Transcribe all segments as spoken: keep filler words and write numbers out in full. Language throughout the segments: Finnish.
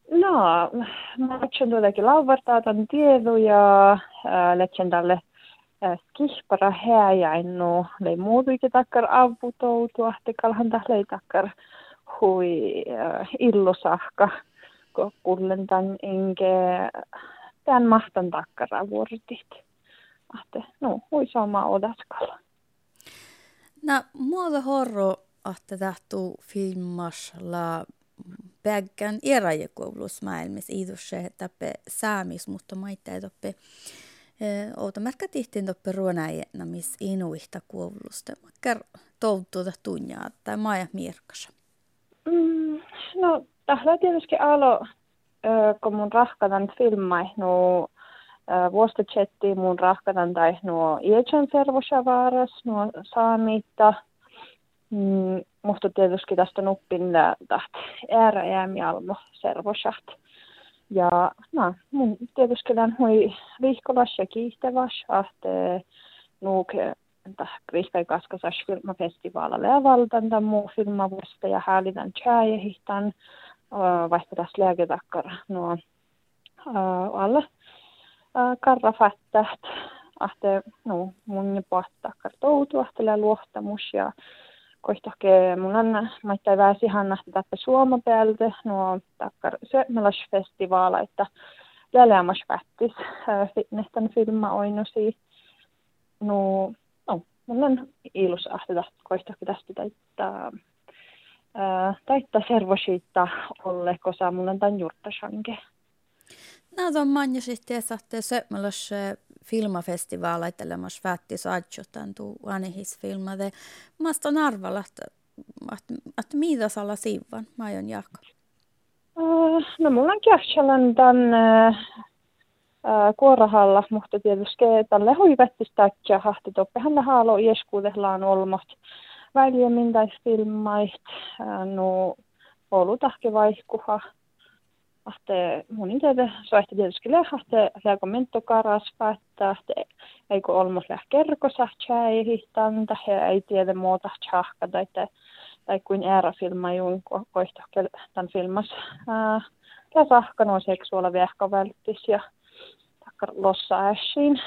No, mä otsin tuotakin lauvartaa tämän tiedon ja äh, letsen tälle äh, skihpara häjäinnu lei muutuikin takkar avutoutu, ahti kalhan tählei takkar hui äh, illusahka, kun kullen tämän inke tämän mahtan takkara vuortit. Ahti, no, hui sama odaskalla. No, muuta horro, että tahtuu filmasla päggän eräjäkoulutusmaailmassa iidusse tappe saamis, mutta maita ei toppe outa märkä tihtiin toppe ruonaajena, missä inuihta koulusta. Mäkkär touttuuta tunjaa tai maja mirkassa. Mm, no, tällä tietysti alo, kun mun rahkatan filmai, no vuostotsettiin mun rahkatan tai nuo iätsän servosavaaras, nuo saamitta. Mm, musta tietysti tästä nuppin tahti ääräjäämi almo servosat. Ja no, mun tietysti län hui vihkolas ja kiihtäväs, ahte nuuk vihkai kaskasas filmafestivaalalle ja valtanta muu filmavuosta ja häälitän tjääjehihtan, vaikka tässä lääketakkar nuo alla karrafattat, ahte no mun pohtakkar toutu, ahtele luottamus ja koistohke mun on maittai väsi hannahti tappe Suoma päältä nuo takkar sömmelasfestivaala, että läleämas vättis fitnestan filma oinosi. No, no, mun on ilus ahti koistohke tästä taittaa taittaa servosiitta olle, kosa mun on tämän jurttasanke. No, tuon manjasit ja saatte sömmelas filmafestivaala itsellemas vätti saadjotan tuu anehisfilmade. Mä on arvalla, että, että, että mitä sala siivan, mä aion Jaakko. Uh, no mulla on käsälän tämän uh, uh, kuorahalla, mutta tietysti tälle huivettistä hahti toppehan haalo ieskuudellaan olmot väljemmin tai filmait, uh, no olutahke vaihkuha. Ahte munin teille soihti tietysti lähte läkomentto karas päättää, että eikö olmos läh kerkosa tjäihihtan, he ei tiedä muuta tjahka tai tai kuin äärafilma juun koihtohkel tämän filmas ja sahka nuo seksuaaliviehka välttis ja takkar lossa ässiin.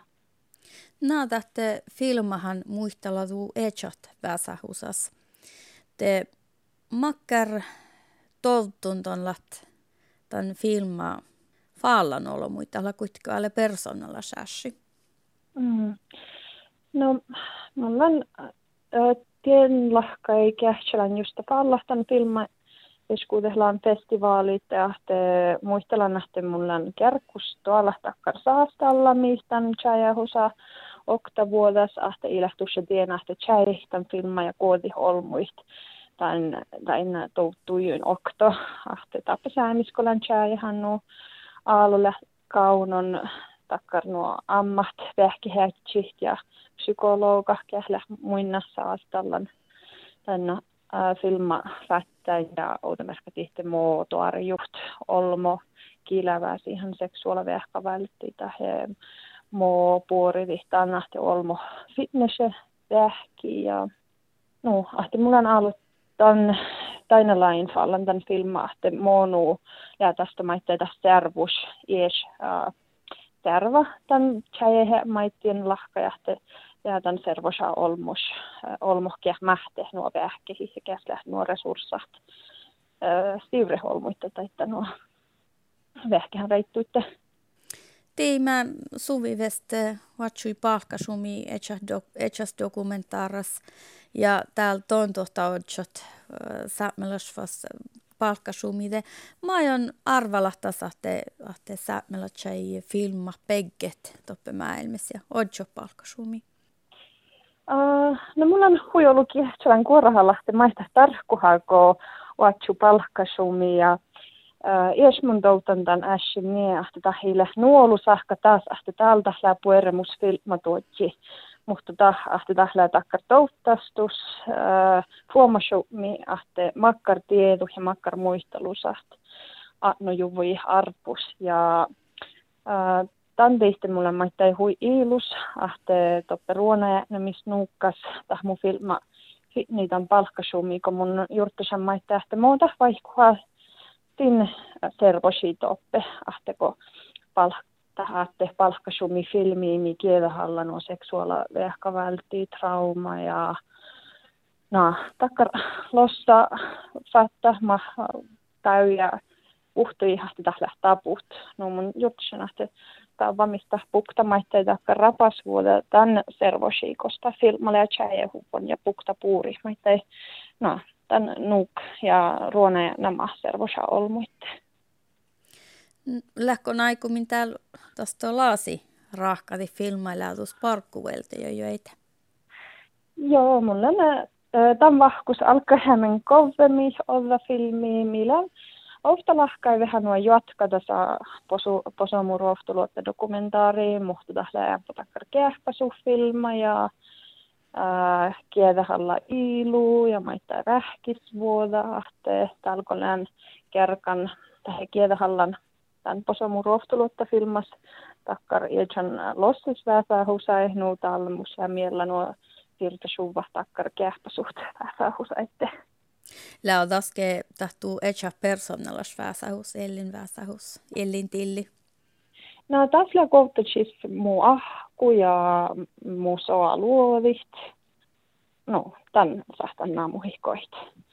No, tähte filmahan muistella tuu etsot väsähusas. Te makkar toltun ton lat tämän filma faallan olo muistella kuitenkin alle persoonalla sässi. Mm. No, mulla on äh, tien lahkai kähtsälän just faallahtan filma, eskuudellaan festivaalit ja muistellaan nähty mulla on kärkus tuolla takkar saastalla, mistä on tjäjähusa oktavuodas, ahte ilahtussa tienahte tjäjihtan filma ja koodi olmuist. Tämän, tämän touttujuin okto, ahte tappe säämiskolan tjäjähän nuo aalulle kaunon takkar nuo ammat, vähkihätsit ja psykologa kählä muinna saastallan tänne filma fättäin ja outomärkä tihti muotoari just olmo kilävää siihen seksuaalivähkä välttitä he mo puori vihtaan nähti olmo fitnesse vähki ja no ahti mulla on ollut tämän tainalain fallan tämän filma ahti monu ja tästä maittaa tästä servus ies terva tämän tjäjähe maittien lahkajahti ja tämän servosa olmus, olmohkia mähte nuo vähkehi ja käslä nuo resurssat. Stivreholmuitte tai nuo vähkehän reittuitte. Tiimä suvivest vatsui palkkasumi etsas dokumentaaras ja täällä tontohta otsot saamelasvas palkkasumide. Mä aion arvalahtas ahte, ahte saamelasjai filma pegget toppe maailmassa ja otso palkkasumi. Uh, no mulla on huijolukin sellainen kuorahalla, että maista tarkkuhako vatsu palkkasumi ja uh, jos mun toutan tämän äsken niin, että tahille nuolusahka taas, että täältä läpi pueremus filma tuotsi, mutta tah, että tählää takkar touttastus, uh, huomasumi, että makkar tiedu ja makkar muistelusaht, no juvui arpus ja uh, Tämän teistä mulla maittai hui iilus, ahte toppe ruonaja, missä nuukkas, tah mun filma, niitä on palkkasumi, kun mun juurtusan maittaa, että muuta vaikkua tin servosi toppe, ahteko palkka. Tähätte palkkasumi filmiin, niin kielehalla no seksuaala vältti trauma ja no takkar lossa fatta ma täyjä uhtui hasti tällä taput. No mun jutsun, että tämä vamista pukta maitteita takkar rapas vuoda tän servosi kosta filmalle ja tjäjehupon ja pukta puuri maittei no tän nuk ja ruona ja nämä servosa olmuitte. Lähkö naikumin täällä tuosta laasi rahkati filmailla tuossa parkkuvelta jo joita? Joo, mulla on tämän vahkus alkahämmen kovemmin olla filmiä, millä ofta lahkai vähän nuo jatkata saa posu posomuruoftuluotta dokumentaariin, mutta tällä takkar kähpäsufilma ja äh, kiedähalla iilu ja maittaa rähkisvuoda-ahte, talkolään kerkan tähän kiedähallan tämän posomuruoftuluotta filmas takkar iljan lossisväsää husaihnu talmus ja miellä nuo virtasuva takkar kähpäsuht väsää husaitte. Lää taske tahtuu echa personalas väsähus, ellin väsähus, ellin tilli. No tässä kohtaisesti muu ahku ja muu soa luovit. No, tän sahtan naamuhikoit.